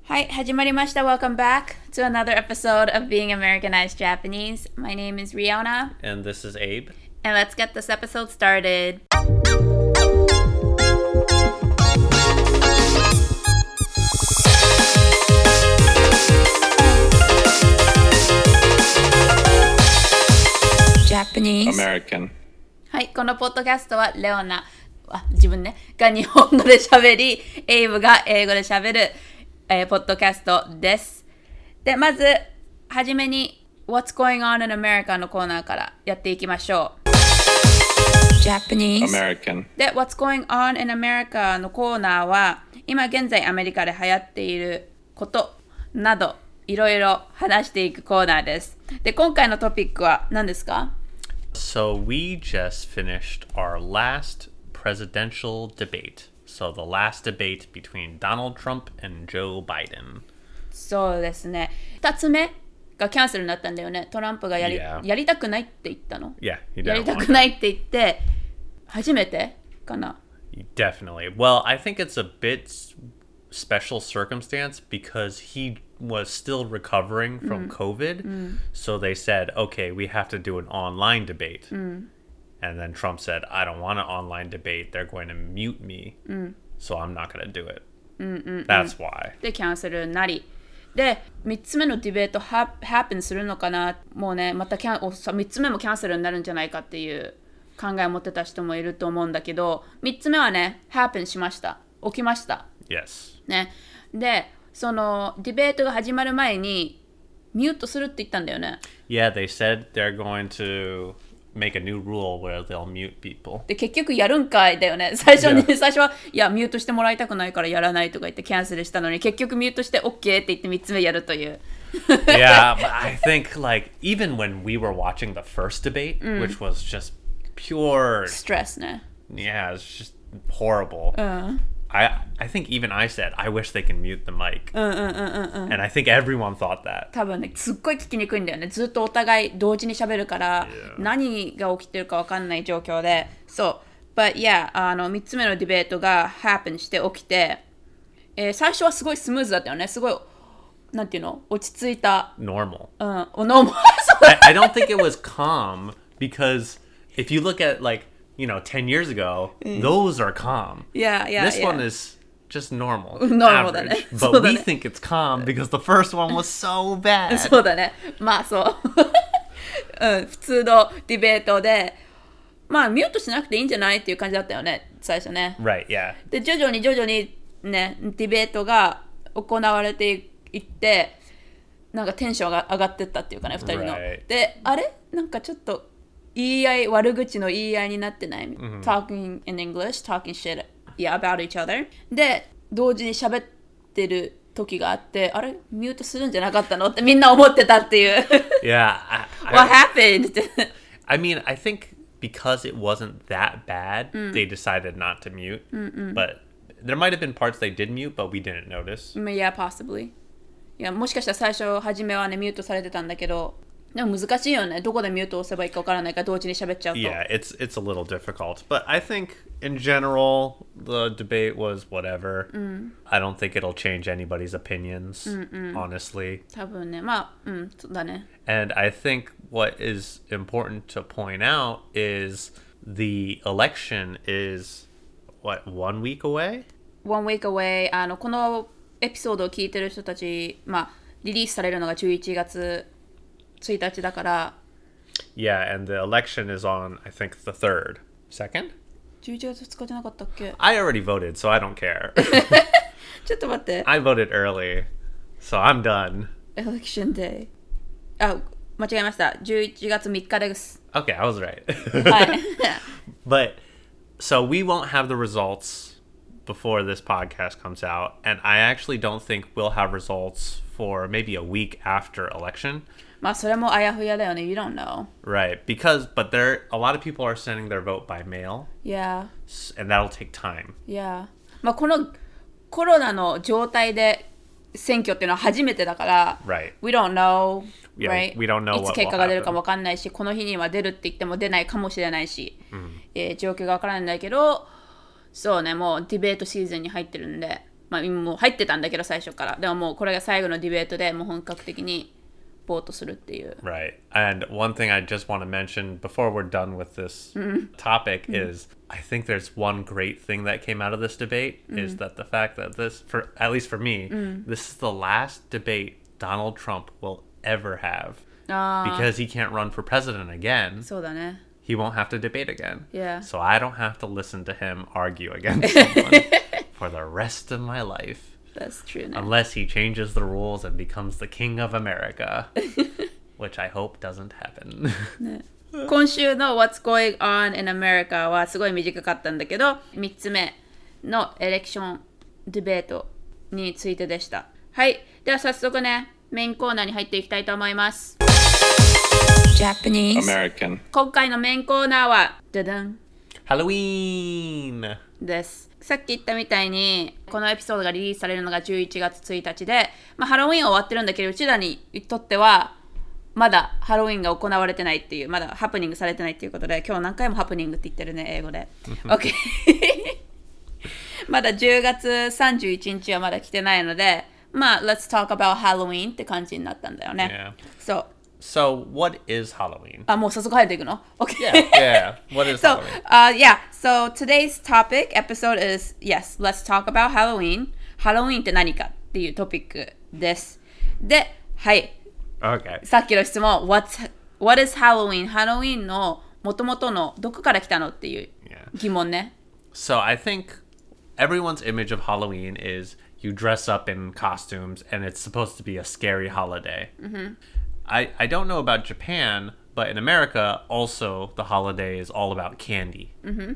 はい、始まりました。Welcome back to another episode of Being Americanized Japanese. My name is Riona. And this is Abe. And let's get this episode started. Japanese. American. はい、このポッドキャストはレオナ、自分ね、が日本語で喋り、エイブが英語で喋る、ポッドキャストです。で、まず、はじめに What's Going On in America のコーナーからやっていきましょう。Japanese American. で、What's Going On in America のコーナーは、今現在アメリカで流行っていることなど、いろいろ話していくコーナーです。で、今回のトピックは何ですか？ So we just finished our last presidential debate. So the last debate between Donald Trump and Joe Biden. そうですね。2つ目がキャンセルになったんだよね。トランプがやりたくないって言ったの。 Yeah, he やり didn't た want くないって言って、初めてかな。 it. Definitely. Well, I think it's a bit special circumstance because he was still recovering from COVID. So they said, okay, we have to do an online debate. And then Trump said, I don't want an online debate. They're going to mute me. So I'm not going to do it. That's why. で、キャンセルになり。で、3つ目のディベートハッペンするのかな。もうね、また3つ目もキャンセルになるんじゃないかっていう考えを持ってた人もいると思うんだけど、3つ目はね、ハッペンしました。起きました。 Yes. ね。で、そのディベートが始まる前にミュートするって言ったんだよね。 Yeah, they said they're going to make a new rule where they'll mute people. で、結局やるんかいだよね。最初はいや、ミュートしてもらいたくないからやらないとか言ってキャンセルしたのに、結局ミュートして OK って言って3つ目やるという。 Yeah, but I think like even when we were watching the first debate, which was just pure ストレスね。 yeah, it's just horrible. I think even I said, I wish they can mute the mic. And I think everyone thought that. 多分ね、すっごい聞きにくいんだよね。ずっとお互い同時に喋るから、 Yeah. 何が起きてるか分かんない状況で。そう。But yeah, 3つ目のディベートが happen して起きて、最初はすごいスムーズだったよね。すごい、なんていうの？落ち着いた。 Normal. ノーマル。 I don't think it was calm because if you look at like, 10 years ago, those are calm. Yeah. This one is just normal. Normal average. だね。そう But だ we ね。 think it's calm because the first one was so bad. そうだね。まあそう。普通のディベートで、まあミュートしなくていいんじゃないっていう感じだったよね、最初ね。 Right, yeah. で、徐々にね、ディベートが行われていって、なんかテンションが上がってったっていうかね、2人の。 Right. で、あれなんかちょっと悪口の言い合いになってない、?Talking in English, talking shit, about each other. で、同時に喋ってる時があって、あれミュートするんじゃなかったのってみんな思ってたっていう。 Yeah. What happened? I mean, I think because it wasn't that bad, they decided not to mute. But there might have been parts they did mute, but we didn't notice. Yeah, possibly. いや、もしかしたら最初めはね、ミュートされてたんだけど、でも難しいよね。どこでミュートを押せばいいか分からないから同時に喋っちゃうと。 Yeah, it's a little difficult. But I think in general, the debate was whatever. I don't think it'll change anybody's opinions, honestly. 多分ね、まあ、そうだね。 And I think what is important to point out is the election is, what, 1 week away? One week away. このエピソードを聞いてる人たち、まあ、リリースされるのが11月1日だから。 Yeah, and the election is on, I think, the 3rd. 2nd? 11月2日じゃなかったっけ？ I already voted, so I don't care. ちょっと待って。 I voted early, so I'm done. Election Day。間違えました。11月3日です。 Okay, I was right. はい。 But, so we won't have the results before this podcast comes out, and I actually don't think we'll have results for maybe a week after election. まあそれもあやふやだよね。You don't know. Right, but a lot of people are sending their vote by mail. Yeah. And that'll take time. Yeah. まあこのコロナの状態で選挙っていうのは初めてだから、 Right. We don't know, Yeah, right? we don't know いつ what 結 will 果が出るか happen. もわかんないし、この日には出るって言っても出ないかもしれないし、状況がわからないんだけど、そうね、もうディベートシーズンに入ってるんで、 まあもう入ってたんだけど最初から。でももうこれが最後のディベートでもう本格的にボートするっていう。 Right. And one thing I just want to mention before we're done with this topic is I think there's one great thing that came out of this debate is that the fact that this, for at least for me, this is the last debate Donald Trump will ever have. Because he can't run for president again. そうだね。 He won't have to debate again. Yeah. So I don't have to listen to him argue against someone for the rest of my life. That's true ね。 Unless he changes the rules and becomes the king of America. Which I hope doesn't happen. 今週の What's Going On in America はすごい短かったんだけど、3つ目のエレクションディベートについてでした。はい。では早速ね、メインコーナーに入っていきたいと思います。Japanese American. 今回のメインコーナーはダダン Halloween! です。さっき言ったみたいにこのエピソードがリリースされるのが11月1日で、まあ、ハロウィン終わってるんだけどうちらにとってはまだハロウィンが行われてないっていうまだハプニングされてないっていうことで今日何回もハプニングって言ってるね英語で OK まだ10月31日はまだ来てないのでまあ Let's talk about Halloween って感じになったんだよね、そう So, what is Halloween? あ、もう早速入っていくの OK Yeah. What is So, Halloween? yeah. So today's topic episode is yes. Let's talk about Halloween. Halloween って何かっていうトピックです。で、はい。 Okay. さっきの質問 What is Halloween? Halloween の元々のどこから来たのっていう疑問ね。 So, I think everyone's image of Halloween is you dress up in costumes and it's supposed to be a scary holiday. I don't know about Japan, but in America, also the holiday is all about candy.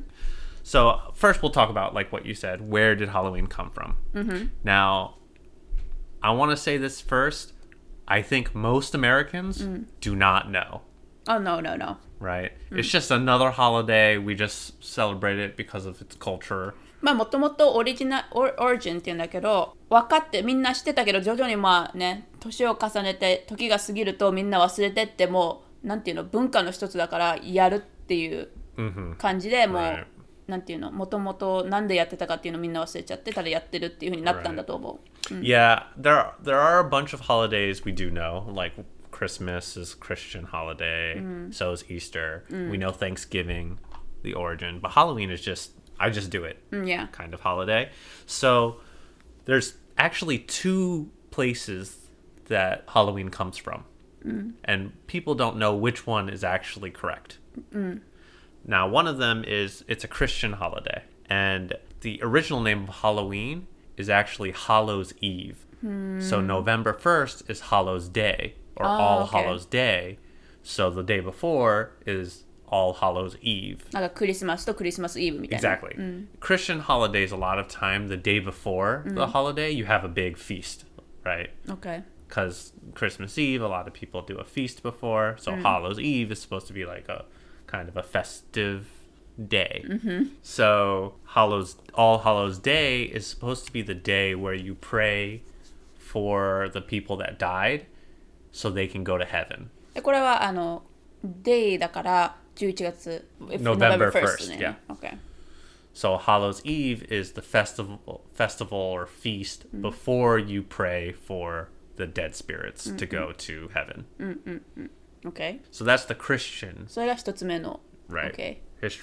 So first we'll talk about like what you said. Where did Halloween come from? Now, I want to say this first. I think most Americans do not know. Oh, no. Right? It's just another holiday. We just celebrate it because of its culture. まあもともとオリジナルオリジンって言うんだけど分かってみんな知ってたけど徐々にまあね年を重ねて時が過ぎるとみんな忘れてってもうなんていうの文化の一つだからやるっていう感じでもうなんていうのもともとなんでやってたかっていうのみんな忘れちゃってただやってるっていう風になったんだと思う。 Yeah, there are a bunch of holidays we do know, like Christmas is a Christian holiday, so is Easter. We know Thanksgiving, the origin, but Halloween is just I just do it kind of holiday. So there's actually two places that Halloween comes from. And people don't know which one is actually correct. Now, one of them is it's a Christian holiday. And the original name of Halloween is actually Hallows Eve. So November 1st is Hallows Day or All Hallows Day. So the day before is All Hallows Eve. なんかクリスマスとクリスマスイブみたいな。 Exactly. Christian holidays, a lot of time, the day before the holiday, you have a big feast, right? Okay. Because Christmas Eve, a lot of people do a feast before. So Hallows Eve is supposed to be like a kind of a festive day. So All Hallows Day is supposed to be the day where you pray for the people that died so they can go to heaven. これはデイだから11月 November 1st, yeah. Okay. So Hallows Eve is the festival or feast before you pray for the dead spirits to go to heaven. Okay. So that's the Christian, それが一つ目の right? Okay.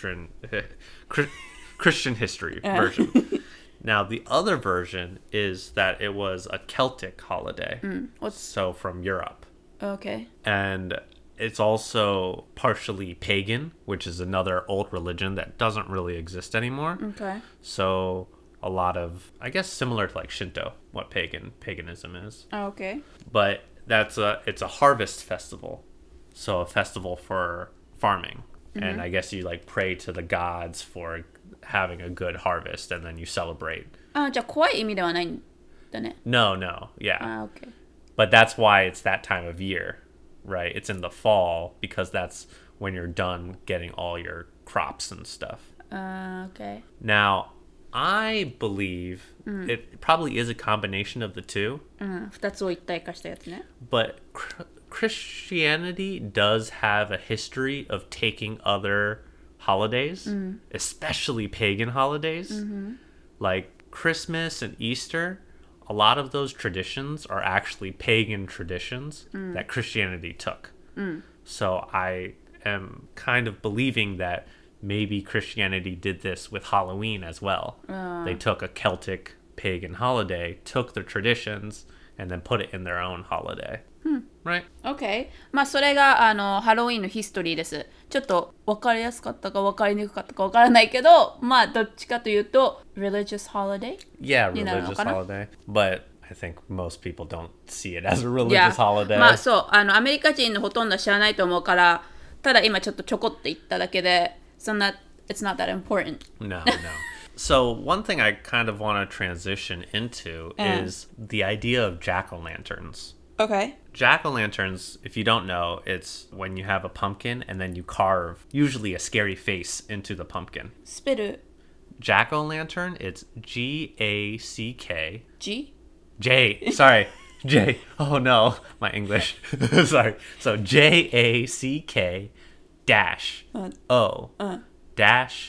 Christian history version. Now the other version is that it was a Celtic holiday. So from Europe. Okay. And it's also partially pagan, which is another old religion that doesn't really exist anymore. Okay. So a lot of, I guess, similar to like Shinto, what paganism is. Okay. But it's a harvest festival. So a festival for farming. And I guess you like pray to the gods for having a good harvest and then you celebrate. じゃあ怖い意味ではないんだね。 No, yeah. Okay. But that's why it's that time of year, right? It's in the fall because that's when you're done getting all your crops and stuff. Okay. Now, I believe it probably is a combination of the two. 二つを一体化したやつね。 But Christianity does have a history of taking other holidays, especially pagan holidays. Like Christmas and Easter, a lot of those traditions are actually pagan traditions that Christianity took. So I am kind of believing that maybe Christianity did this with Halloween as well. They took a Celtic pagan holiday, took the traditions, and then put it in their own holiday. Right? OK。まあそれがハロウィンのヒストリーです。ちょっと分かりやすかったか分かりにくかったか分からないけど、まあどっちかというと religious holiday? Yeah, になるの religious かな holiday. But I think most people don't see it as a religious holiday. まあそうアメリカ人のほとんどは知らないと思うから、ただ今ちょっとちょこって言っただけで、そんな it's not that important. No. So one thing I kind of want to transition into is the idea of jack-o'-lanterns. OK。 Jack-o'-lanterns, if you don't know, it's when you have a pumpkin and then you carve usually a scary face into the pumpkin. スペル Jack-o'-lantern, it's G-A-C-K. G? J. Sorry. J. Oh no, my English. Sorry. So J-A-C-K dash O dash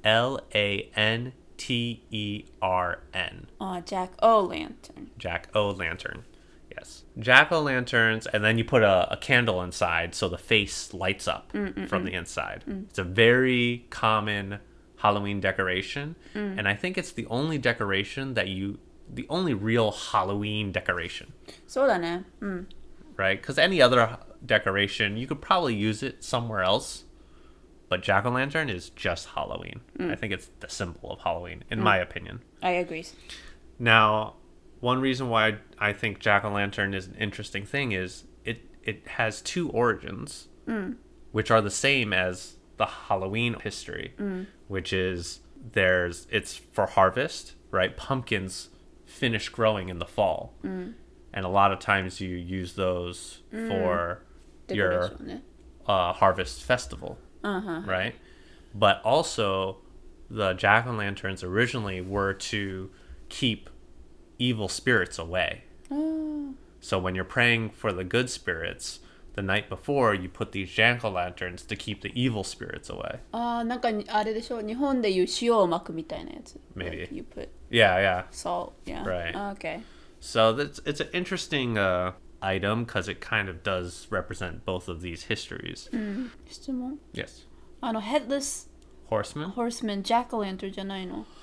L-A-N-T-E-R-N. Jack-o'-lantern. Jack-o'-lantern. Yes. Jack-o'-lanterns, and then you put a candle inside so the face lights up from the inside. It's a very common Halloween decoration, and I think it's the only decoration the only real Halloween decoration. そうだね。 Right? Because any other decoration, you could probably use it somewhere else, but jack-o'-lantern is just Halloween. I think it's the symbol of Halloween, in my opinion. I agree. Now, one reason why I think jack-o'-lantern is an interesting thing is it has two origins, which are the same as the Halloween history, which is it's for harvest, right? Pumpkins finish growing in the fall. And a lot of times you use those for your harvest festival, right? But also, the jack-o'-lanterns originally were to keep evil spirits away. So when you're praying for the good spirits, the night before you put these jack-o'-lanterns to keep the evil spirits away. なんかあれでしょ、日本でいう塩を巻くみたいなやつ。 Maybe. Like you put Yeah. salt. Yeah. Right. Okay. So it's an interesting item because it kind of does represent both of these histories. 質問 Yes. Headless Horseman? Horseman Jack-o'-lantern じゃないの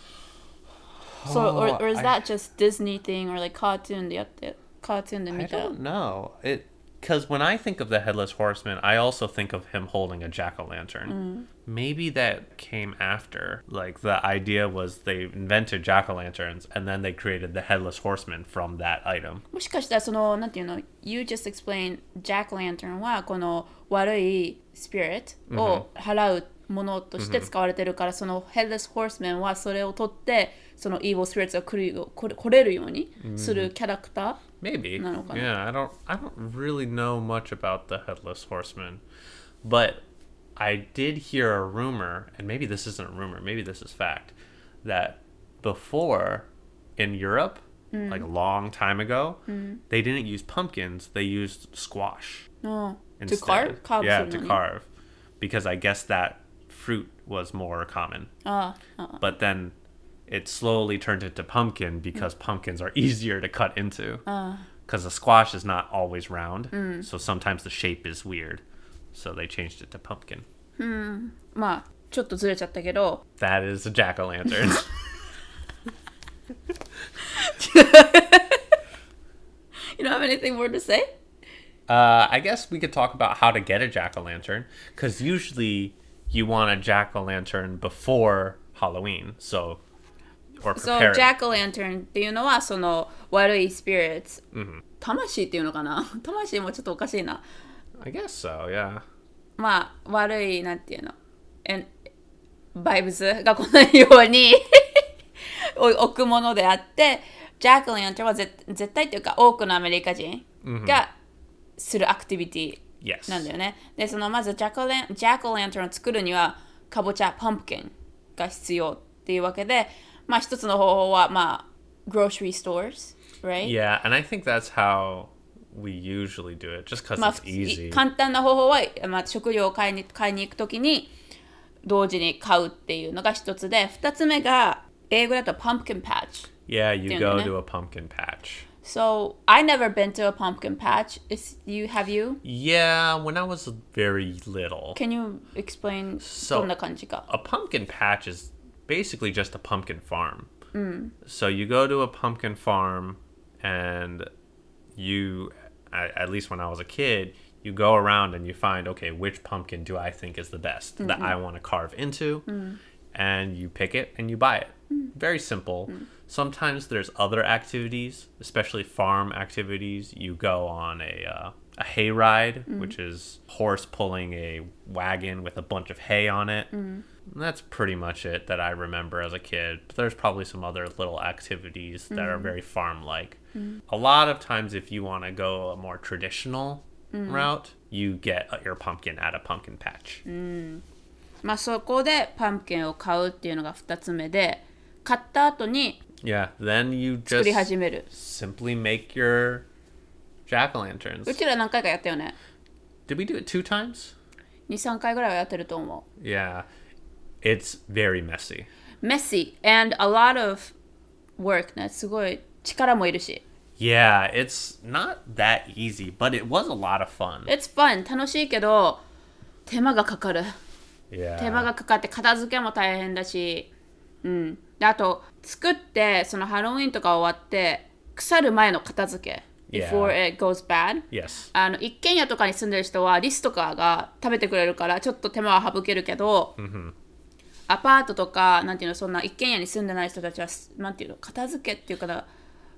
So, or is that just Disney thing or like cartoon でやってcartoon で I 見た don't know. Because when I think of the Headless Horseman, I also think of him holding a jack-o'-lantern. Maybe that came after. Like, the idea was they invented jack-o'-lanterns, and then they created the Headless Horseman from that item. もしかしたらそのなんていうの You just explained Jack-o'-lantern はこの悪い spirit を払うものとして使われてるから、その Headless Horseman はそれを取ってその evil spirits が来れるようにするキャラクター Maybe. なのかな Yeah, I don't really know much about the Headless Horseman. But I did hear a rumor, and maybe this isn't a rumor, maybe this is fact, that before in Europe, like a long time ago, they didn't use pumpkins, they used squash. To Instead. carve? Yeah, to carve. Because I guess that fruit was more common. But then it slowly turned into pumpkin because pumpkins are easier to cut into. Because the squash is not always round, so sometimes the shape is weird. So they changed it to pumpkin. まあちょっとずれちゃったけど That is a jack-o'-lantern. You don't have anything more to say? I guess we could talk about how to get a jack-o'-lantern. Because usually you want a jack-o'-lantern before Halloween. So, or prepare So, Jack-o'-lantern っていうのはその悪い spirits、魂っていうのかな魂もちょっとおかしいな I guess so, yeah. まあ悪いなんていうのバイブスが来ないように置くものであってJack-o'-lantern は絶対っていうか多くのアメリカ人がするアクティビティなんだよね。で、そのまずJack-o'-lantern を作るにはかぼちゃ、パンプキンが必要っていうわけで、まあ一つの方法はまあ grocery stores, right? Yeah, and I think that's how we usually do it, just because まあ it's easy. 簡単な方法は、まあ、食料を買いに行くときに同時に買うっていうのが一つで、二つ目が英語だと pumpkin patch. Yeah, you go ね。 to a pumpkin patch. So, I never been to a pumpkin patch. Have you? Yeah, when I was very little. Can you explain So- どんな感じか A pumpkin patch is basically just a pumpkin farm. So you go to a pumpkin farm and you, at least when I was a kid, you go around and you find, okay, which pumpkin do I think is the best that I want to carve into? And you pick it and you buy it. Very simple. Sometimes there's other activities, especially farm activities. You go on a hayride, which is horse pulling a wagon with a bunch of hay on it. That's pretty much it that I remember as a kid. But there's probably some other little activities that are very farm-like. A lot of times if you want to go a more traditional route, you get your pumpkin at a pumpkin patch. まあそこでパンプキンを買うっていうのが2つ目で、買った後に Yeah, then you 作り just 始める。 simply make your jack-o'-lanterns. うちら何回かやったよね。 Did we do it 2 times? 2、3回ぐらいはやってると思う。 Yeah. It's very messy. Messy and a lot of work ね。すごい力もいるし。 Yeah, it's not that easy, but it was a lot of fun. It's fun. 楽しいけど、手間がかかる。 Yeah. 手間がかかって片付けも大変だし、であと作ってそのハロウィンとか終わって腐る前の片付け Yeah. before it goes bad、 Yes. 一軒家とかに住んでる人はリスとかが食べてくれるからちょっと手間は省けるけど、アパートとかなんていうのそんな一軒家に住んでない人たちはなんていうの片付けっていうかな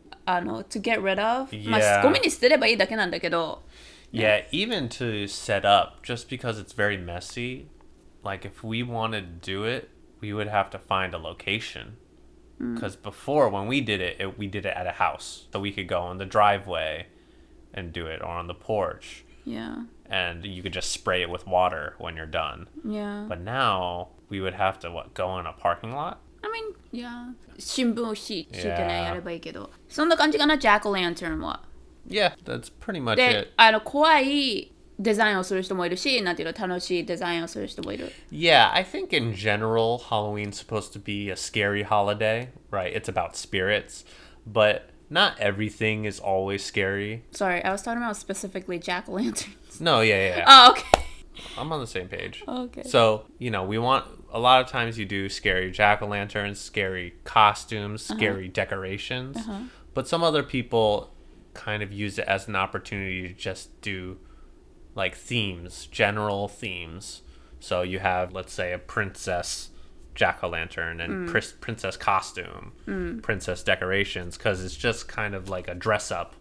to get rid of、 まあ Yeah. ゴミに捨てればいいだけなんだけど Yeah, even to set up, just because it's very messy, like if we wanted to do it, we would have to find a location. Because before, when we did it, we did it at a house. So we could go on the driveway and do it, or on the porch. yeah And you could just spray it with water when you're done. yeah But now, we would have to, go in a parking lot? I mean, yeah. 新聞を敷いてね、 Yeah. やればいいけど。そんな感じかな、ジャック・ランタンは。 Yeah, that's pretty much で it.、 怖いデザインをする人もいるし、なんていうの、楽しいデザインをする人もいる。 Yeah, I think in general, Halloween's supposed to be a scary holiday, right? It's about spirits, but not everything is always scary. Sorry, I was talking about specifically Jack o' lanterns. No, yeah. Oh, okay. I'm on the same page. Okay. So, we want, a lot of times you do scary jack-o'-lanterns, scary costumes, scary decorations, but some other people kind of use it as an opportunity to just do like themes, general themes. So you have, let's say, a princess jack-o'-lantern and princess costume, princess decorations, because it's just kind of like a dress-up,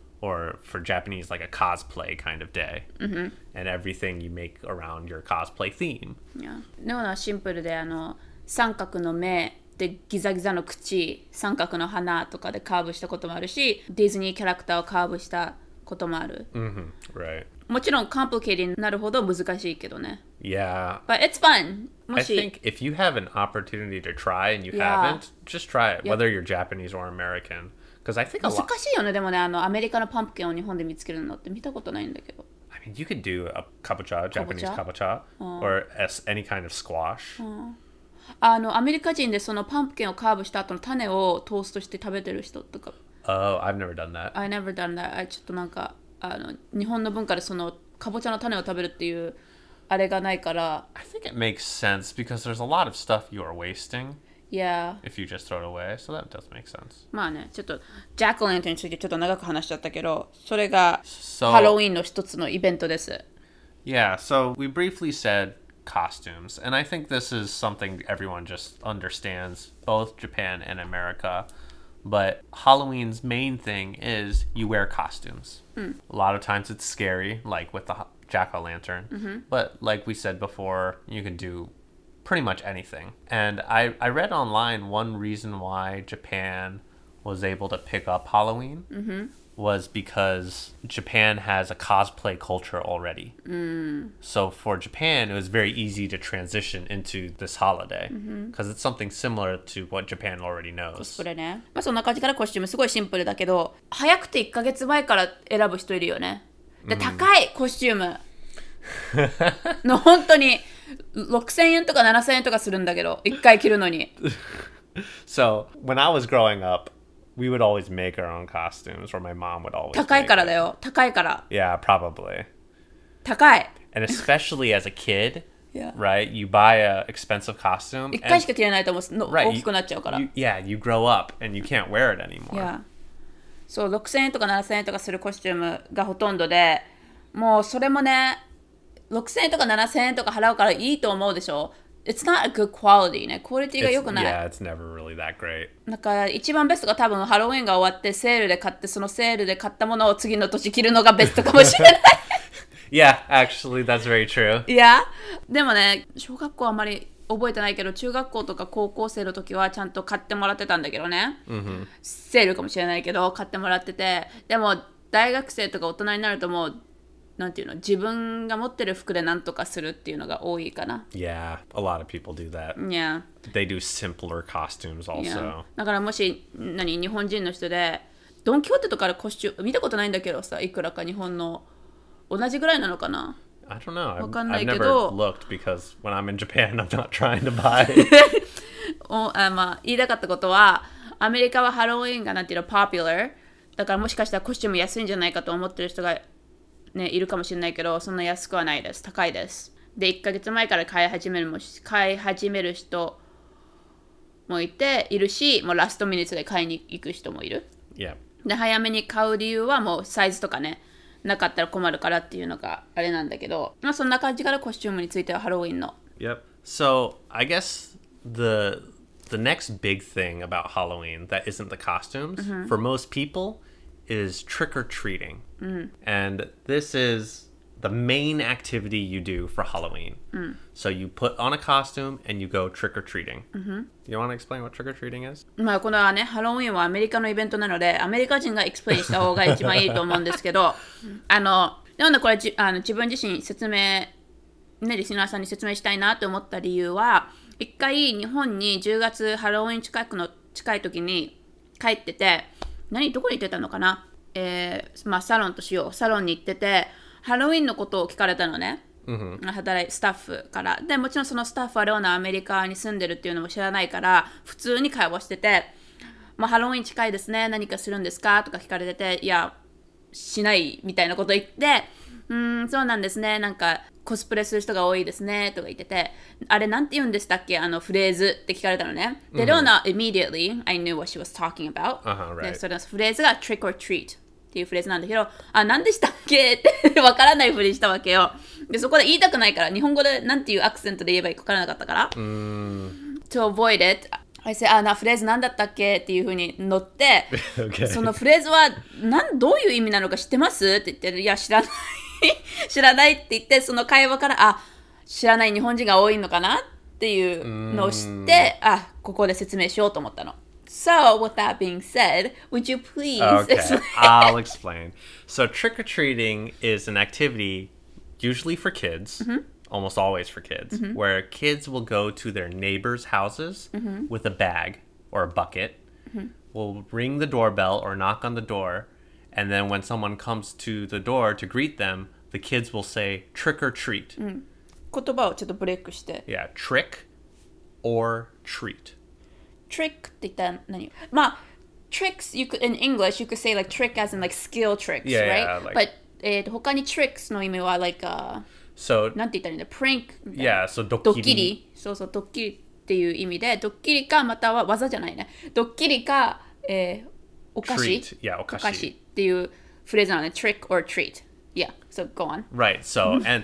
or for Japanese, like a cosplay kind of day. And everything you make around your cosplay theme. Yeah. のはシンプルで、三角の目でギザギザの口、三角の鼻とかでカーブしたこともあるし、ディズニーキャラクターをカーブしたこともある。 Right. もちろん、コンプリケーティになるほど難しいけどね。 Yeah. But it's fun. も I し、 think if you have an opportunity to try and you Yeah. haven't, just try it, Yeah. whether you're Japanese or American. Because I think a 難 lot. しいよね、でもね、アメリカのパンプキンを日本で見つけるのって見たことないんだけど。 I mean, you could do a kabocha, Japanese kabocha, or any kind of squash. アメリカ人でそのパンプキンをカーブした後の種をトーストして食べてる人とか。 Oh, I've never done that. I never done that. ちょっとなんか、日本の文化でそのかぼちゃの種を食べるっていうあれがないから。 I think it makes sense because there's a lot of stuff you are wasting Yeah. if you just throw it away. So that does make sense. まあね、ちょっとジャック・ランタンについてちょっと長く話しちゃったけど、それが So- ハロウィンの一つのイベントです。 Yeah, so we briefly said costumes, and I think this is something everyone just understands, both Japan and America. But Halloween's main thing is you wear costumes. A lot of times it's scary, like with the jack-o'-lantern. But like we said before, you can do pretty much anything. And I read online one reason why Japan was able to pick up Halloween was because Japan has a cosplay culture already. So for Japan, it was very easy to transition into this holiday because it's something similar to what Japan already knows. それね。まあそんな感じからコスチュームすごいシンプルだけど、早くて1ヶ月前から選ぶ人いるよね。で、高いコスチューム。の本当に6000円とか7000円とかするんだけど、1回着るのに。 So when I was growing up, we would always make our own costumes, or my mom would always 高い make から it. だよ。高いから。 Yeah, probably. 高い。 And especially as a kid, Yeah. right? You buy a expensive costume. 一回しか着れないと思うの right, 大きくなっちゃうから。 you grow up and you can't wear it anymore. Yeah. そう、6000円とか7000円とかするコスチュームがほとんどで、もうそれもね、6000円とか7000円とか払うからいいと思うでしょ。It's not a good quality ね。クオリティが良くない。 Yeah, it's never really that great. なんか一番ベストが多分ハロウィンが終わってセールで買って、そのセールで買ったものを次の年着るのがベストかもしれない。 Yeah, actually, that's very true. いや、でもね、小学校はあまり覚えてないけど、中学校とか高校生の時はちゃんと買ってもらってたんだけどね。セールかもしれないけど、買ってもらってて。でも、大学生とか大人になるともう、なんていうの、自分が持ってる服でなんとかするっていうのが多いかな。 Yeah, a lot of people do that. Yeah. They do simpler costumes also. だからもし、日本人の人で、ドン・キホーテとかでコスチューム、見たことないんだけどさ、いくらか日本の同じぐらいなのかな。 I don't know. わかんな I've いけ never ど、 looked because when I'm in Japan, I'm not trying to buy. まあ、言いたかったことは、アメリカはハロウィンがなんていうの、popular。だからもしかしたらコスチューム安いんじゃないかと思ってる人が、ね、いるかもしれないけど、そんな安くはないです。高いです。で、1ヶ月前から買い始める人もいて、いるし、もうラストミニッツで買いに行く人もいる。 Yeah. で、早めに買う理由はもうサイズとかね、なかったら困るからっていうのがあれなんだけど、まあそんな感じからコスチュームについてはハロウィンの。 Yep. So I guess the next big thing about Halloween that isn't the costumes for most people is trick or treating, and this is the main activity you do for Halloween. So you put on a costume and you go trick or treating. You want to explain what trick or treating is? まあこのはね、ハロウィンはアメリカのイベントなので、アメリカ人がエクスプレインした方が一番いいと思うんですけど、なんでこれ自分自身説明、ね、リスナーさんに説明したいなと思った理由は、一回日本に10月ハロウィン近い時に帰ってて、どこに行ってたのかな、まあサロンとしよう。サロンに行ってて、ハロウィンのことを聞かれたのね。スタッフから。で、もちろんそのスタッフはレオナアメリカに住んでるっていうのも知らないから、普通に会話してて、まあ、ハロウィン近いですね。何かするんですかとか聞かれてて、いや、しないみたいなこと言って、そうなんですね。なんか、コスプレする人が多いですね。とか言ってて、あれなんて言うんでしたっけフレーズって聞かれたのね。で、レオナ、immediately, I knew what she was talking about. Right. で、それのフレーズが trick or treat。っていうフレーズなんだけど、何でしたっけってわからないふりしたわけよ。で、そこで言いたくないから、日本語でなんていうアクセントで言えばいいかわからなかったから。To avoid it, I say, フレーズなんだったっけっていうふうに乗って、 Okay. そのフレーズはどういう意味なのか知ってますって言って、いや、知らない。知らないって言って、その会話から、知らない日本人が多いのかなっていうのを知って、ここで説明しようと思ったの。So, with that being said, would you please Okay, I'll explain. So, trick or treating is an activity usually for kids, almost always for kids, where kids will go to their neighbors' houses with a bag or a bucket, will ring the doorbell or knock on the door, and then when someone comes to the door to greet them, the kids will say trick or treat. 言葉をちょっとブレイクして。 Yeah, trick or treat. Trick って言ったら何？まあ、tricks, in English, you could say like trick as in like skill tricks, Yeah, right? like- But 他に tricks の意味はlike, So, なんて言ったらいいんだ prank みたいな yeah, so ドッキ dokkiri. リそうそう、ドッキリっていう意味で、ドッキリかまたは技じゃないね。ドッキリか、お菓子 Treat. Yeah, お菓 okashi. 子っていうフレーズなのね。trick or treat. Yeah, so go on. Right. So, and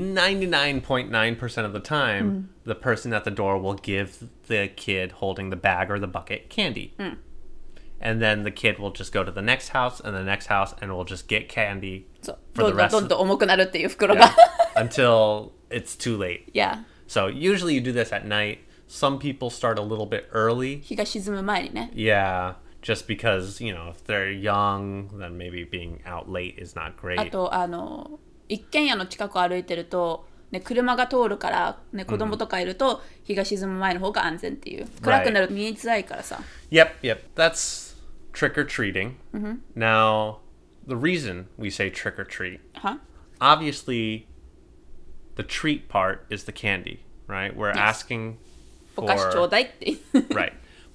99.9% of the time, the person at the door will give the kid holding the bag or the bucket candy. And then the kid will just go to the next house and the next house and will just get candy そう for ど the んどん rest どん of どん重くなるっていう袋が。 until it's too late. Yeah. So, usually you do this at night. Some people start a little bit early. 日が沈む前にね。 Yeah. Just because, you know, if they're young, then maybe being out late is not あ great. と一軒家の近くを歩いてると、ね、車が通るから、ね、子供とかいると、日が沈む前の方が安全っていう。暗くなると見えづらいからさ。 Yep. That's trick or treating. Now, the reason we say trick or treat, は obviously, the treat part is the candy, right? We're asking お菓子ちょ for うだいって。 right.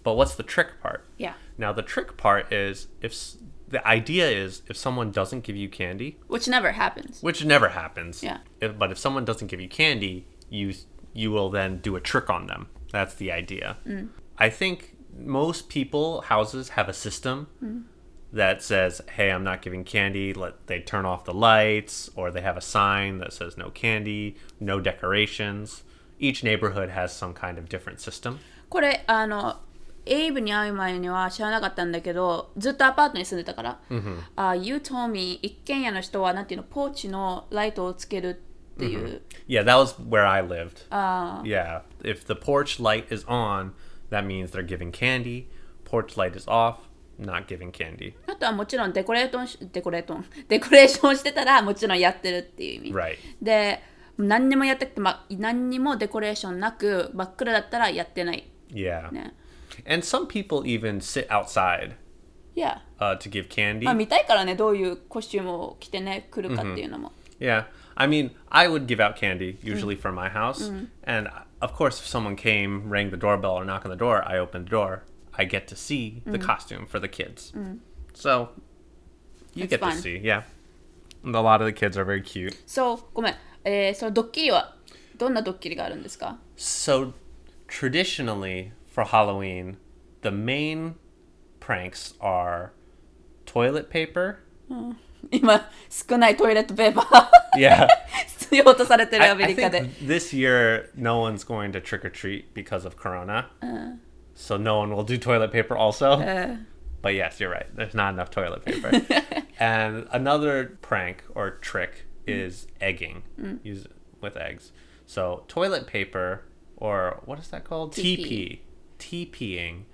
But what's the trick part? Yeah. Now, the trick part is the idea is if someone doesn't give you candy, Which never happens. which never happens. Yeah. But if someone doesn't give you candy, you will then do a trick on them. That's the idea. I think most houses have a system that says, hey, I'm not giving candy. They turn off the lights, or they have a sign that says no candy, no decorations. Each neighborhood has some kind of different system. これエイブに会う前には知らなかったんだけど、ずっとアパートに住んでたから、You told me 一軒家の人はなんていうの、ポーチのライトをつけるっていう。 Yeah, that was where I lived. Yeah, if the porch light is on, that means they're giving candy. Porch light is off, not giving candy. あとはもちろんデコレーションしてたらもちろんやってるっていう意味。 Right. で、何にもやってて、何にもデコレーションなく真っ暗だったらやってない。 Yeah. ね。 And some people even sit outside Yeah. To give candy. 見たいからね、どういうコスチュームを着てね、来るかっていうのも。 Yeah. I mean, I would give out candy usually from my house. And of course, if someone came, rang the doorbell, or knocked on the door, I opened the door. I get to see the costume for the kids. So you get to see, yeah. And a lot of the kids are very cute. そう、ごめん。そのドッキリはどんなドッキリがあるんですか？ So traditionally for Halloween, the main pranks are toilet paper. 今少ないトイレットペーパー Yeah. 必要とされてるア I メリカで。 think this year no one's going to trick or treat because of Corona. So no one will do toilet paper also. But yes, you're right. There's not enough toilet paper. And another prank or trick is egging. Use it with eggs. So toilet paper, or what is that called? TP. TPing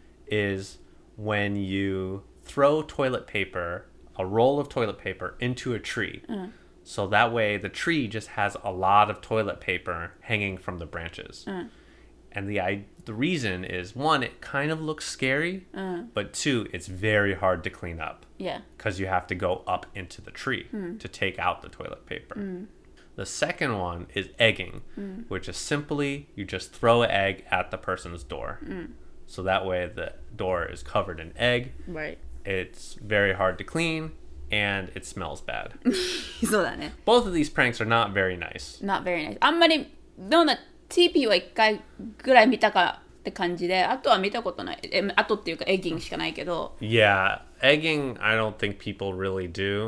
is when you throw toilet paper, a roll of toilet paper, into a tree. So that way the tree just has a lot of toilet paper hanging from the branches. And the reason is, one, it kind of looks scary, but two, it's very hard to clean up. Yeah. Because you have to go up into the tree to take out the toilet paper. The second one is egging, which is simply you just throw an egg at the person's door. So that way the door is covered in egg. Right. It's very hard to clean, and it smells bad. そうだね。 Both of these pranks are not very nice. Not very nice. あんまりどんな TP は1回ぐらい見たかって感じで、あとは見たことない。あとっていうかエッギングしかないけど。 Yeah, egging, I don't think people really do.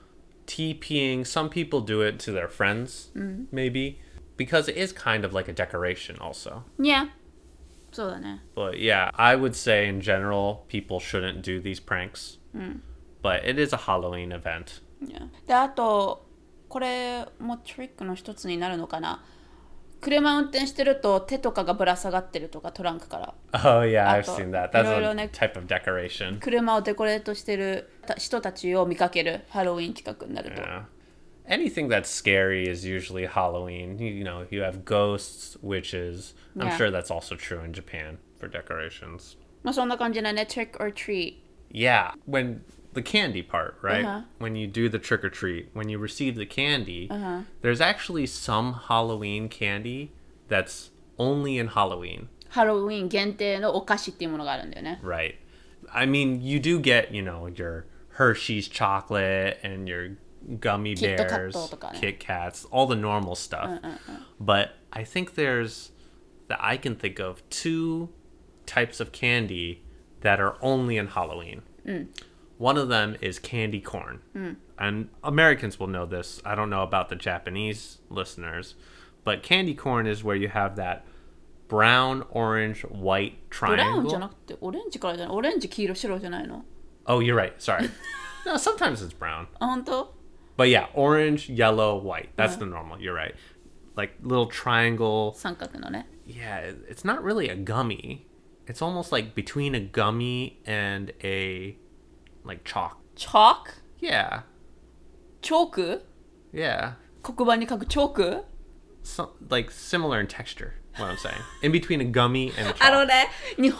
TPing, some people do it to their friends, maybe, because it is kind of like a decoration also. Yeah. そうだね。 But yeah, I would say in general, people shouldn't do these pranks. But it is a Halloween event. Yeah. で、あと、これもトリックの一つになるのかな。車運転してると手とかがぶら下がってるとかトランクから。 Oh yeah, I've あと seen that. That's いろいろ a ね、 type of decoration. 車をデコレートしてる人たちを見かけるハロウィン企画になると。 Yeah. Anything that's scary is usually Halloween. You know, you have ghosts, witches. I'm Yeah. sure that's also true in Japan for decorations. まあそんな感じだね。trick or treat. Yeah, when the candy part, right? Uh-huh. When you do the trick or treat, when you receive the candy, there's actually some Halloween candy that's only in Halloween. ハロウィン限定のお菓子っていうものがあるんだよね。 Right. I mean, you do get, you know, your Hershey's chocolate and your gummy Kit Kat bears, とかね。 Kit Kats, all the normal stuff. But I think there's, that I can think of, two types of candy that are only in Halloween. One of them is candy corn. And Americans will know this. I don't know about the Japanese listeners. But candy corn is where you have that brown, orange, white ブラウンじゃ triangle. なくてオレンジからじゃない。オレンジ、黄色、白じゃないの。 Oh, you're right. Sorry. No, sometimes it's brown. あ、本当？ But yeah, orange, yellow, white. That's the normal. You're right. Like little triangle. 三角のね。 Yeah, it's not really a gummy. It's almost like between a gummy and a like chalk. チョーク？ Yeah. チョーク？ Yeah. 黒板に書くチョーク？ Like similar in texture, what I'm saying. In between a gummy and a あの chalk. ね、日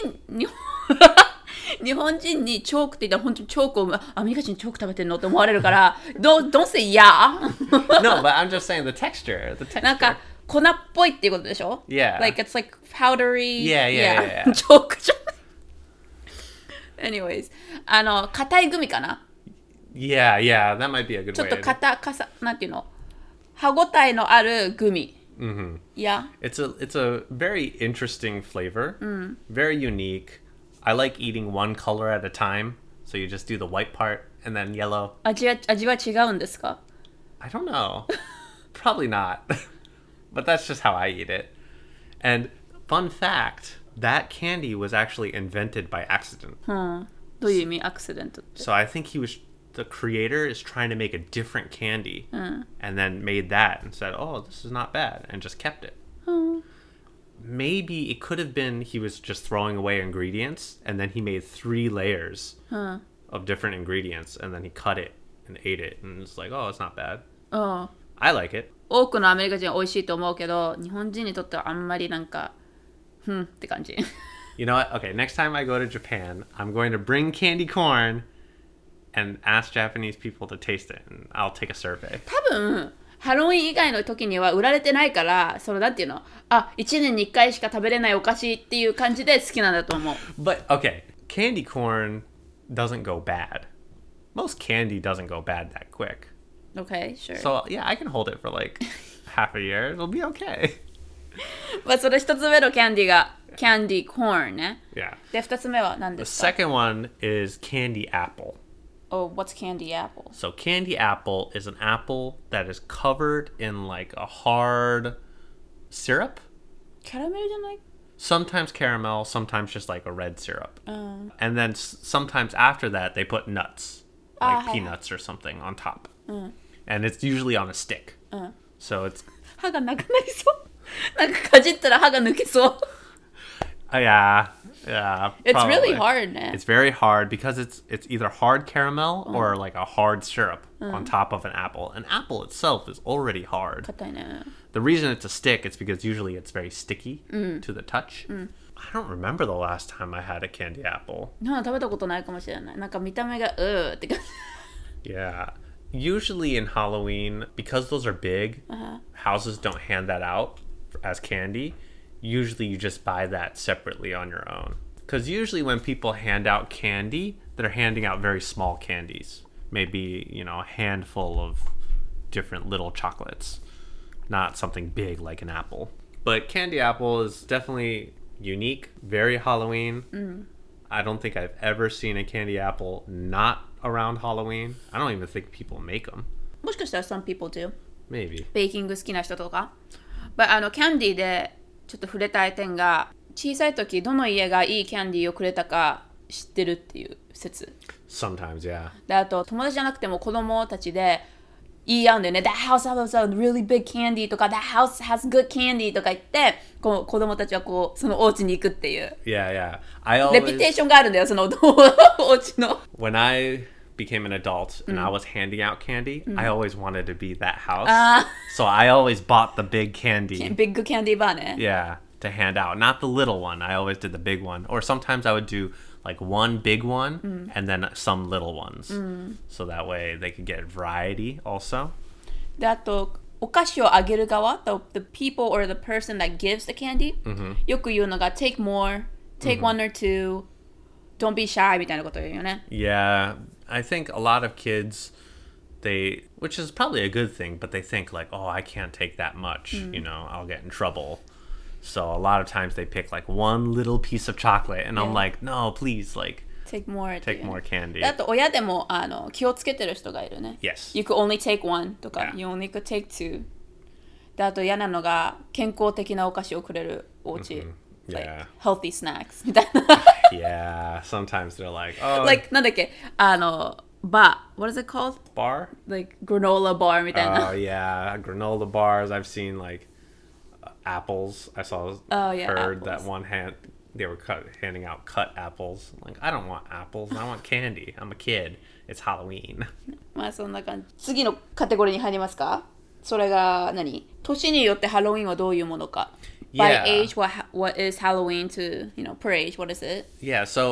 本人にチョークって言ったら本当にチョークをアメリカ人チョーク食べてんのって思われるから、don't say yeah. No, but I'm just saying the texture. The なん texture. か粉っぽいっていうことでしょ Yeah. Like it's like powdery. Yeah. ジョークじゃん。Anyways. 硬いグミかな Yeah, that might be a good ちょっ way. となんていうの歯ごたえのあるグミ。Yeah. It's a very interesting flavor. Very unique. I like eating one color at a time. So you just do the white part and then yellow. 味は違うんですか I don't know. Probably not. But that's just how I eat it. And fun fact, that candy was actually invented by accident. どういう意味アクシデントって。 So I think the creator is trying to make a different candy and then made that and said, oh, this is not bad, and just kept it. Maybe it could have been he was just throwing away ingredients and then he made 3 layers of different ingredients and then he cut it and ate it and it's like, oh, it's not bad. I like it. 多くのアメリカ人は美味しいと思うけど、日本人にとってはあんまりなんか、って感じ。 You know what? Okay, next time I go to Japan, I'm going to bring candy corn and ask Japanese people to taste it and I'll take a survey. 多分、ハロウィン以外の時には売られてないから、それだっていうの、1年に1回しか食べれないお菓子っていう感じで好きなんだと思う。 But, okay, candy corn doesn't go bad. Most candy doesn't go bad that quick. Okay, sure. So, yeah, I can hold it for like half a year. It'll be okay. まあそれ一つ目のキャンディが、キャンディコーンね。 Yeah. で、二つ目は何で The すか second one is candy apple. Oh, what's candy apple? So, candy apple is an apple that is covered in like a hard syrup. キャラメルじゃない Sometimes caramel, sometimes just like a red syrup. And then sometimes after that, they put nuts, like peanuts or something on top. And it's usually on a stick. So it's... 歯がなくなりそう。なんかかじったら歯が抜けそう。 yeah. It's probably. really hard ね。 It's very hard because it's either hard caramel or like a hard syrup on top of an apple. An apple itself is already hard. 硬いね。 The reason it's a stick is because usually it's very sticky to the touch. I don't remember the last time I had a candy apple. 食べたことないかもしれない。なんか見た目がって感じ。 Yeah. Usually in Halloween, because those are big, houses don't hand that out as candy. Usually you just buy that separately on your own. Because usually when people hand out candy, they're handing out very small candies. Maybe, a handful of different little chocolates. Not something big like an apple. But candy apple is definitely unique, very Halloween. I don't think I've ever seen a candy apple not around Halloween. I don't even think people make them. もしかしたら some people do. Maybe. ベーキング好きな人とか。But キャンディーでちょっと触れたい点が、小さい時どの家がいいキャンディーをくれたか知ってるっていう説。 Sometimes, yeah. で、あと友達じゃなくても子供たちで言い合うんだよね。That house has a really big candy とか That house has good candy とか言って子供たちはそのお家に行くっていう。 Yeah. I always... レピュテーションがあるんだよ、そのお家の。 When I became an adult and I was handing out candy, I always wanted to be that house. So I always bought the big candy. Big candy bar ね。 Yeah, to hand out. Not the little one. I always did the big one. Or sometimes I would do like one big one and then some little ones. So that way they could get variety also. で、あと、お菓子をあげる側、the people or the person that gives the candy、よく言うのが take more, take one or two, don't be shy みたいなこと言うよね。 Yeah, I think a lot of kids, which is probably a good thing, but they think like, oh, I can't take that much, I'll get in trouble. So a lot of times they pick like one little piece of chocolate and I'm like, no, please, like, take more candy. あと親でも気をつけてる人がいるね。 Yes. You could only take one とか、You only could take two. で、あと嫌なのが健康的なお菓子をくれるお家。Like healthy snacks みたいな。 Yeah, sometimes they're like, oh. Like なんだっけwhat is it called? Bar? Like granola bar みたいな。 Oh yeah, granola bars. I've seen like apples. I heard that one they were handing out cut apples. Like, I don't want apples. I want candy. I'm a kid. It's Halloween. まあそんな感じ。次のカテゴリーに入りますか？それが年によってハロウィンはどういうものか。By age, what is Halloween to, per age, what is it? Yeah, so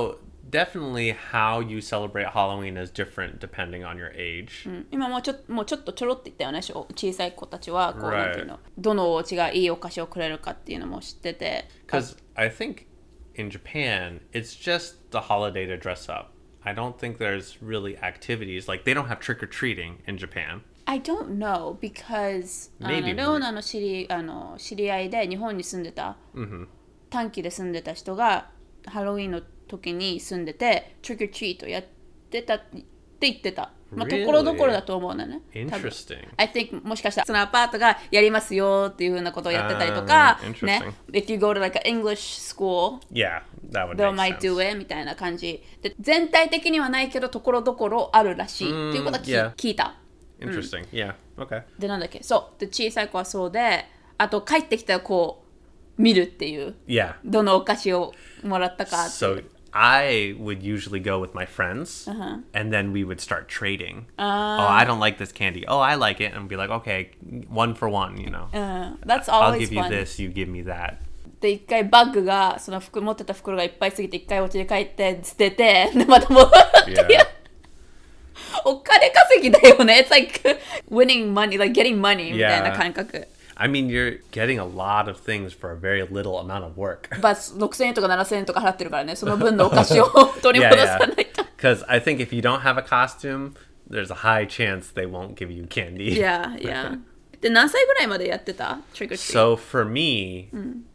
definitely how you celebrate Halloween is different depending on your age. 今もうちょっとちょろって言ったよね。小さい子たちはこう、 Right. なんていうの、どのお家がいいお菓子をくれるかっていうのも知ってて。 Because I think in Japan, it's just the holiday to dress up. I don't think there's really activities. Like, they don't have trick-or-treating in Japan. I don't know because Maybe. レオナの知り合いで日本に住んでた、短期で住んでた人がハロウィンの時に住んでてトリック・オア・トリートやってたって言ってた。まあ、ところどころだと思うんだね。 Interesting. I think もしかしたらそのアパートがやりますよっていう風なことをやってたりとか、ね。If you go to like an English school, Yeah, that would they make might sense. do it みたいな感じで、全体的にはないけどところどころあるらしいっていうことは yeah. 聞いた。 Interesting. Yeah. Okay. でなんだっけ、そうで小さい子はそうで、あと帰ってきたらこう見るっていう、 Yeah. どのお菓子をもらったかっていう。 So I would usually go with my friends, and then we would start trading. Oh, I don't like this candy. Oh, I like it, and be like, okay, 1 for 1, you know. That's I'll always give you fun. this, you give me that. で一回バッグがその持ってた袋がいっぱいすぎて一回お家に帰って捨てて、でまた戻ってやる。 Yeah. お金稼ぎだよね。It's like winning money, like getting money みたいな感覚。 I mean, you're getting a lot of things for a very little amount of work. まあ6000円とか7000円とか払ってるからね、その分のお菓子を取り戻さないと。 Because I think if you don't have a costume, there's a high chance they won't give you candy. Yeah, yeah. で何歳ぐらいまでやってた Trick or treat? So for me,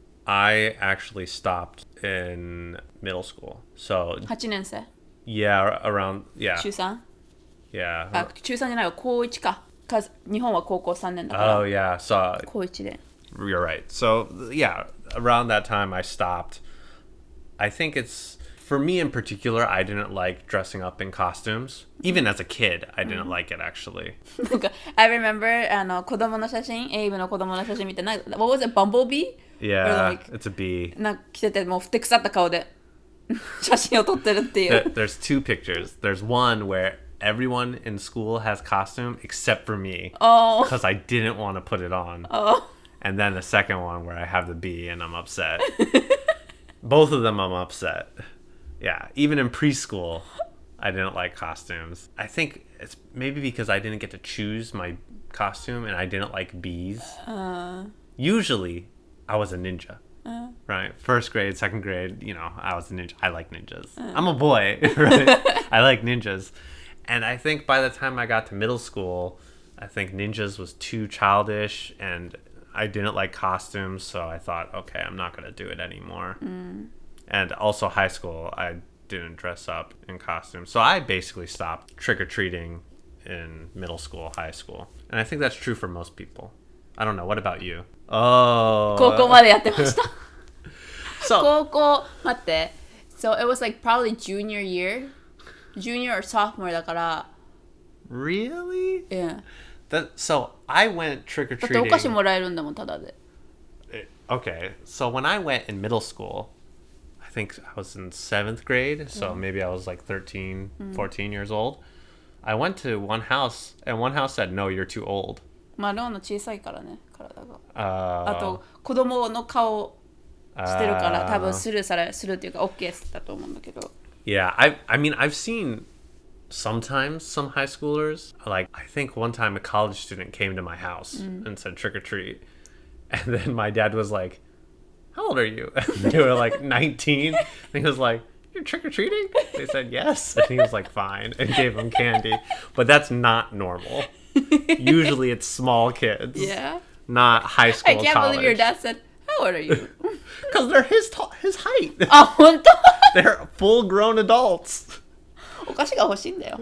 I actually stopped in middle school. So 8年生 yeah, around yeah, 中 3? yeah. あ、中3じゃないわ、高1か。日本は高校3年だから。 Oh yeah, so 高1で。 you're right. So yeah, around that time I stopped. I think it's for me in particular, I didn't like dressing up in costumes. Even as a kid, I didn't like it actually. なんか、I remember 子供の写真、エイブの子供の写真見て、What was it? Bumblebee? Yeah, Or like, it's a bee. なんか着てて、もうふてくさった顔で写真を撮ってるっていう。 There's two pictures. There's one where everyone in school has costume except for me Oh. because I didn't want to put it on. Oh. And then the second one where I have the bee and I'm upset. Both of them I'm upset. Yeah, even in preschool, I didn't like costumes. I think it's maybe because I didn't get to choose my costume and I didn't like bees. Usually, I was a ninja. Right? First grade, second grade, you know, I was a ninja. I like ninjas. I'm a boy, right? I like ninjas. And I think by the time I got to middle school, I think ninjas was too childish and I didn't like costumes. So I thought, okay, I'm not going to do it anymore. And also high school, I didn't dress up in costumes. So I basically stopped trick-or-treating in middle school, high school. And I think that's true for most people. I don't know. What about you? Oh. 高校までやってました。 So, 高校、待って。So it was like probably junior year? Junior or sophomore だから。 really? Yeah. So I went だってお trick-or-treating. 菓子もらえるんだもん、ただで。 Okay. So when I went in middle school, I think I was in 7th grade. So maybe I was like 13, 14 years old. I went to one house and one house said, no, you're too old. まあ、ローンの小さいからね、体が。 Uh, あと、子供の顔してるから、多分スルーっていうか、OK だと思うんだけど。 Yeah, I mean, I've seen sometimes some high schoolers, like, I think one time a college student came to my house and said trick or treat. And then my dad was like, how old are you? And they were like 19. And he was like, you're trick or treating? They said yes. And he was like, fine, and gave them candy. But that's not normal. Usually it's small kids, Yeah. not high school. I can't believe your dad said, how old are you? Because they're his height. あ、本当 They're full grown adults. お菓子が欲しいんだよ。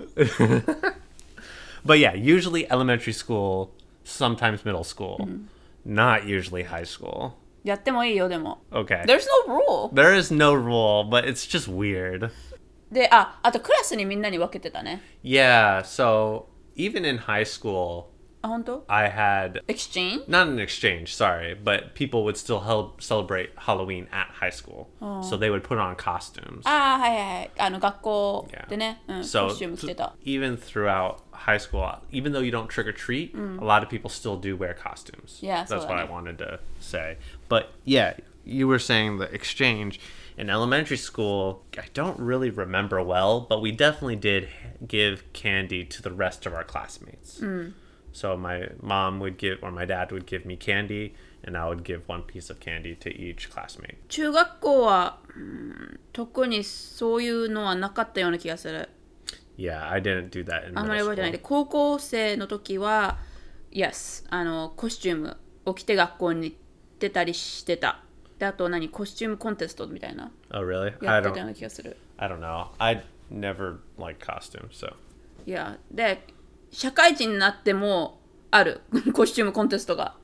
But yeah, usually elementary school, sometimes middle school, not usually high school. やってもいいよ、でも。 Okay. There's no rule. There is no rule, but it's just weird. で、あとクラスにみんなに分けてたね。 Yeah, so even in high school, あ、本当 I had Exchange? not an exchange, sorry, but people would still celebrate Halloween at high school. So they would put on costumes. ああ、はいはいはい。学校でね、コ So スチューム着てた。 even throughout high school, even though you don't trick or treat, a lot of people still do wear costumes. Yeah, That's so what I that- wanted to say. But yeah, you were saying the exchange. in elementary school, I don't really remember well, but we definitely did give candy to the rest of our classmates. So my mom would give, or my dad would give me candy, and I would give one piece of candy to each classmate. 中学校は、特にそういうのはなかったような気がする。 Yeah, I didn't do that in あんまり middle 覚えてない school. で、高校生の時は Yes、コスチュームを着て学校に行ってたりしてた。で、あとコスチュームコンテストみたいな Oh, really? やってたような気がする。 I don't know. I never liked costumes, so. いや、で、社会人になってもあるコスチュームコンテストが。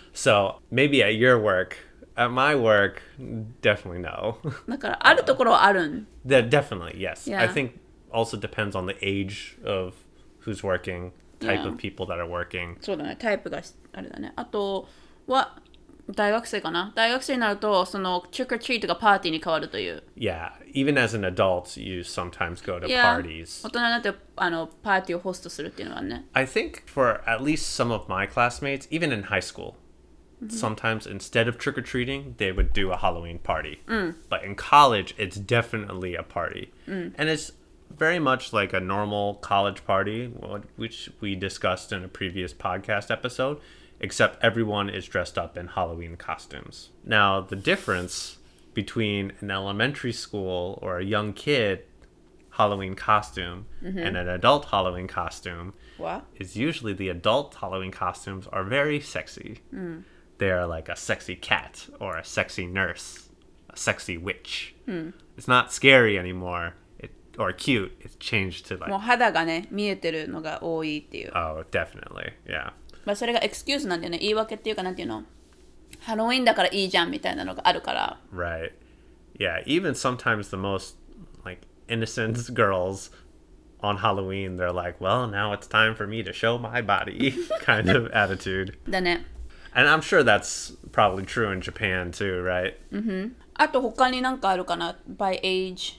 So maybe at your work, at my work, definitely no. だからあるところはあるん。 Definitely, yes. Yeah. I think also depends on the age of who's working, type Yeah. of people that are working. そうだね、タイプがあれだね。あとは大学生かな。大学生になるとその trick or treat がパーティーに変わるという。 Yeah, even as an adult, you sometimes go to Yeah. parties. 大人になってパーティーをホストするっていうのはね。 I think for at least some of my classmates, even in high school, sometimes instead of trick or treating, they would do a Halloween party. But in college, it's definitely a party. And it's very much like a normal college party, which we discussed in a previous podcast episode, except everyone is dressed up in Halloween costumes. Now, the difference between an elementary school or a young kid Halloween costume and an adult Halloween costume What? is usually the adult Halloween costumes are very sexy. They are like a sexy cat or a sexy nurse, a sexy witch. It's not scary anymore or cute. It's changed to もう like, 肌がね見えてるのが多いっていう。 oh, definitely. Yeah. まあそれがエクスキューズなんだよね。言い訳っていうかなんていうの。ハロウィンだからいいじゃんみたいなのがあるから。 Right. Yeah. Even sometimes the most like innocent girls on Halloween, they're like, well, now it's time for me to show my body kind of attitude. だね。 And I'm sure that's probably true in Japan too, right? あと他になんかあるかな by age。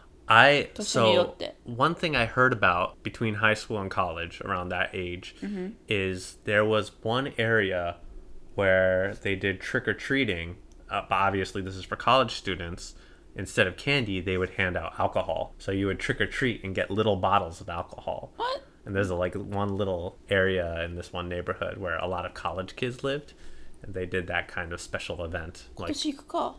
So one thing I heard about between high school and college around that age is there was one area where they did trick-or-treating. But obviously this is for college students. Instead of candy, they would hand out alcohol. So you would trick-or-treat and get little bottles of alcohol. What? And there's like one little area in this one neighborhood where a lot of college kids lived. And they did that kind of special event. 今 Like, 年行くか。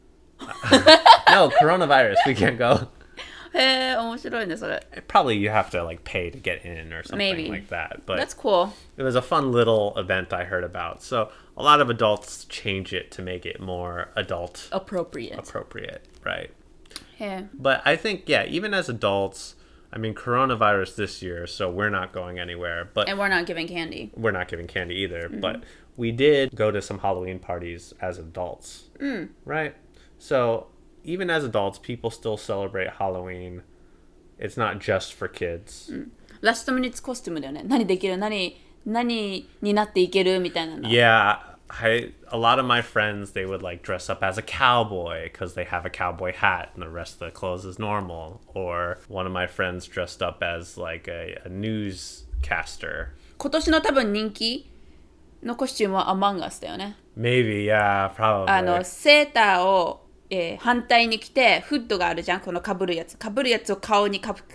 no, coronavirus, we can't go. へえ、面白いねそれ。 Probably you have to like pay to get in or something Maybe. like that. But That's cool. it was a fun little event I heard about. So a lot of adults change it to make it more adult Appropriate. appropriate, right? へえ。 But I think, yeah, even as adults, I mean, coronavirus this year, so we're not going anywhere. But And we're not giving candy. we're not giving candy either. But we did go to some Halloween parties as adults, right? So even as adults, people still celebrate Halloween. It's not just for kids. ラストミニッツコスチュームだよね。何できる何になっていけるみたいなの。 Yeah, a lot of my friends, they would like dress up as a cowboy because they have a cowboy hat and the rest of the clothes is normal. Or one of my friends dressed up as like a newscaster. 今年の多分人気のコスチュームはアマンガスだよね。 Maybe, yeah, probably. セーターを、反対に着てフッドがあるじゃん、このかぶるやつを顔にかぶ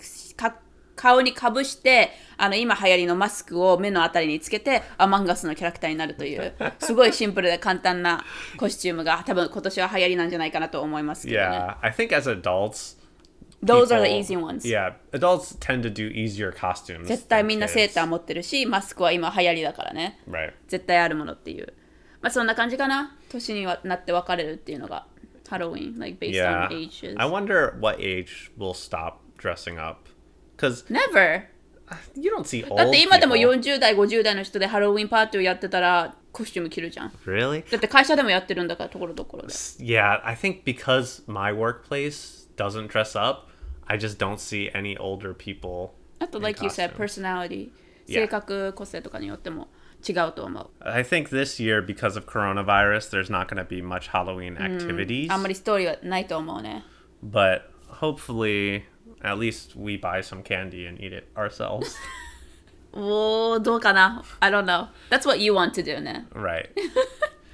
して今流行りのマスクを目のあたりにつけてアマンガスのキャラクターになるというすごいシンプルで簡単なコスチュームが多分今年は流行りなんじゃないかなと思いますけどね。 Yeah, I think as adults, Those are the people- easy ones. Yeah, adults tend to do easier costumes. 絶対 than みんなセーター kids. 持ってるし、マスクは今流行りだからね。 Right. 絶対あるものっていう。まあそんな感じかな。年になって分かれるっていうのが。Halloween, like based Yeah. on ages. I wonder what age will stop dressing up. Because Never! you don't see old だって今でも people. 40代、50代の人でハロウィンパーティーをやってたらコスチューム着るじゃん。 Really? だって会社でもやってるんだからところどころで。 Yeah, I think because my workplace doesn't dress up, I just don't see any older people. あと、 in like you said, costume. personality、 Yeah. 性格、個性とかによっても違うと思う。 I think this year, because of coronavirus, there's not going to be much Halloween activities. あんまりストーリーはないと思うね。 But hopefully, at least we buy some candy and eat it ourselves. おー、どうかな ?I don't know. That's what you want to do ね。 Right.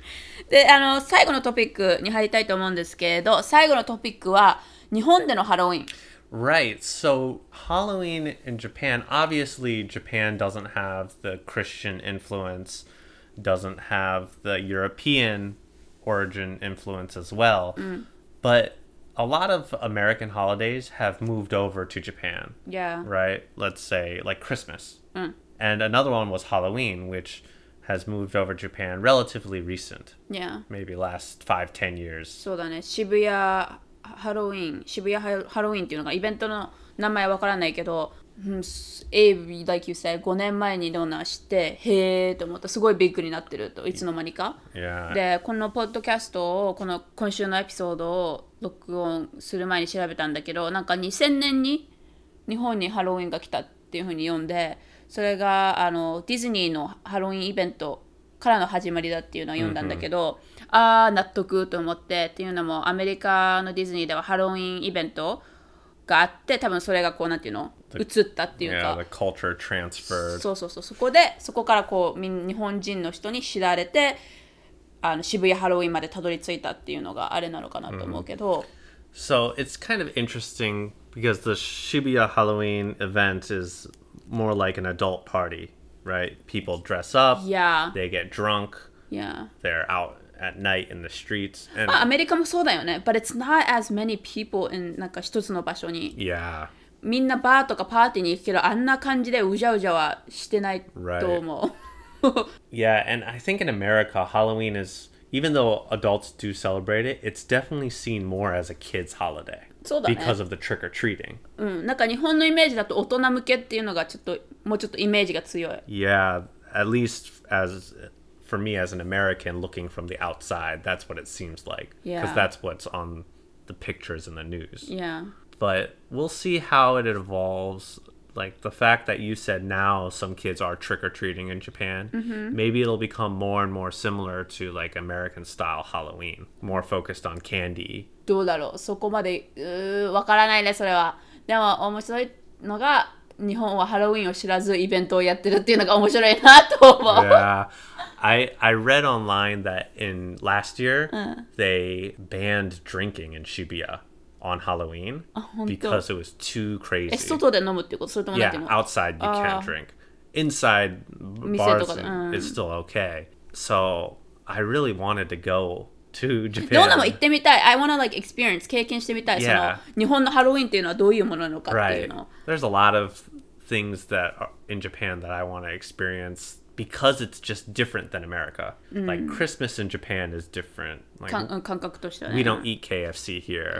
で、最後のトピックに入りたいと思うんですけれど、最後のトピックは日本でのハロウィン。 Right. So Halloween in Japan, obviously Japan doesn't have the Christian influence, doesn't have the European origin influence as well. But a lot of American holidays have moved over to Japan. Yeah. Right? Let's say like Christmas. And another one was Halloween, which has moved over Japan relatively recent. Yeah. Maybe last 5-10 years. そうだね。渋谷ハロウィンっていうのがイベントの名前わからないけど、like you said 5年前にロナ知ってへーと思った。すごいビッグになってるといつの間にか。 Yeah. でこのポッドキャストを今週のエピソードを録音する前に調べたんだけど、なんか2000年に日本にハロウィンが来たっていう風に読んで、それがディズニーのハロウィンイベントからの始まりだっていうのを読んだんだけど、納得と思って。っていうのもアメリカのディズニーではハロウィンイベントがあって、多分それがこうなんていうの移ったっていうか、 the culture transferred. そこからこう日本人の人に知られて渋谷ハロウィンまでたどり着いたっていうのがあれなのかなと思うけど、 So it's kind of interesting because the Shibuya Halloween event is more like an adult party, right? People dress up, Yeah. they get drunk, Yeah. they're out at night in the streets, and アメリカもそうだよね。But it's not as many people in なんか一つの場所に。 yeah, みんなバーとかパーティーに行くけど、あんな感じでうじゃうじゃはしてないと思う。 yeah, and I think in America, Halloween is, even though adults do celebrate it, it's definitely seen more as a kid's holiday そうだね。 because of the trick or treating. なんか日本のイメージだと大人向けっていうのがもうちょっとイメージが強い。 Yeah, at least as for me as an American looking from the outside, that's what it seems like. Because Yeah. that's what's on the pictures in the news. Yeah. But we'll see how it evolves. Like the fact that you said now some kids are trick-or-treating in Japan, maybe it'll become more and more similar to like American style Halloween, more focused on candy. どうだろう、そこまでわからないね、それは。でも面白いのが日本はハロウィンを知らずイベントをやってるっていうのが面白いなと思う。 Yeah. I read online that in last year they banned drinking in Shibuya on Halloween because it was too crazy. 外で飲むっていうこと、それともなんていう Yeah, の outside you can't drink. Inside 店 bars とかで、 it's still okay. So I really wanted to go to ローナも Japan. 行ってみたい。I wanna like experience 経験してみたい。 Yeah. その日本のハロウィンっていうのはどういうものなのかっていう Right. の。 There's a lot of things that are in Japan that I want to experience because it's just different than America. Like Christmas in Japan is different. Like 感覚としてはね。 we don't eat KFC here.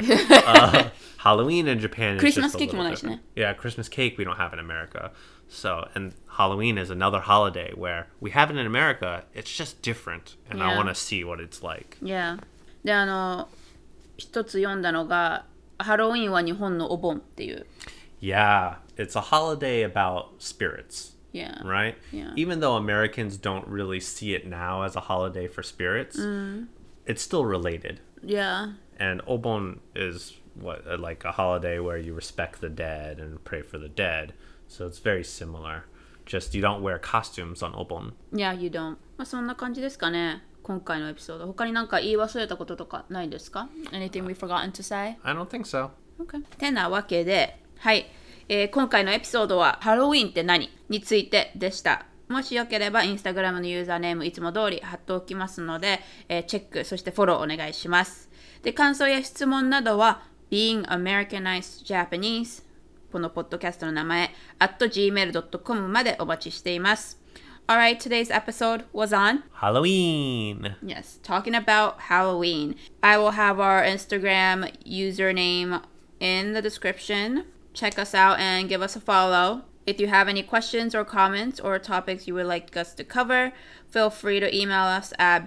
Halloween in Japan is Christmas just a cake も little ないしね。 different. Yeah, Christmas cake we don't have in America. So, and Halloween is another holiday where we have it in America. It's just different, and I Yeah. want to see what it's like. Yeah. で一つ読んだのがハロウィンは日本のお盆っていう。 Yeah, it's a holiday about spirits. Yeah. Right? Yeah. Even though Americans don't really see it now as a holiday for spirits, it's still related. Yeah. And Obon is like a holiday where you respect the dead and pray for the dead. So it's very similar. Just you don't wear costumes on Obon. Yeah, you don't. まあそんな感じですかね。今回のエピソード。他になんか言い忘れたこととかないですか？ Anything we forgotten to say? I don't think so. Okay. てなわけで、はい。今回のエピソードはハロウィンって何についてでした。もしよければインスタグラムのユーザーネームいつも通り貼っておきますので、チェックそしてフォローお願いします。で、感想や質問などは Being Americanized Japanese このポッドキャストの名前 @gmail.com までお待ちしています。Alright, today's episode was on Halloween. Yes, talking about Halloween. I will have our Instagram username in the description. Check us out and give us a follow. If you have any questions or comments or topics you would like us to cover, feel free to email us at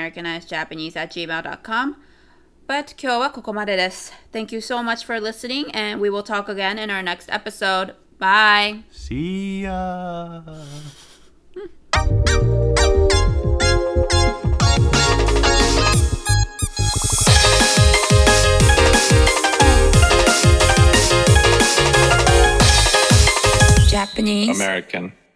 beingamericanizedjapanese@gmail.com. But 今日はここまでです。Thank you so much for listening and we will talk again in our next episode. Bye! See ya. Japanese American.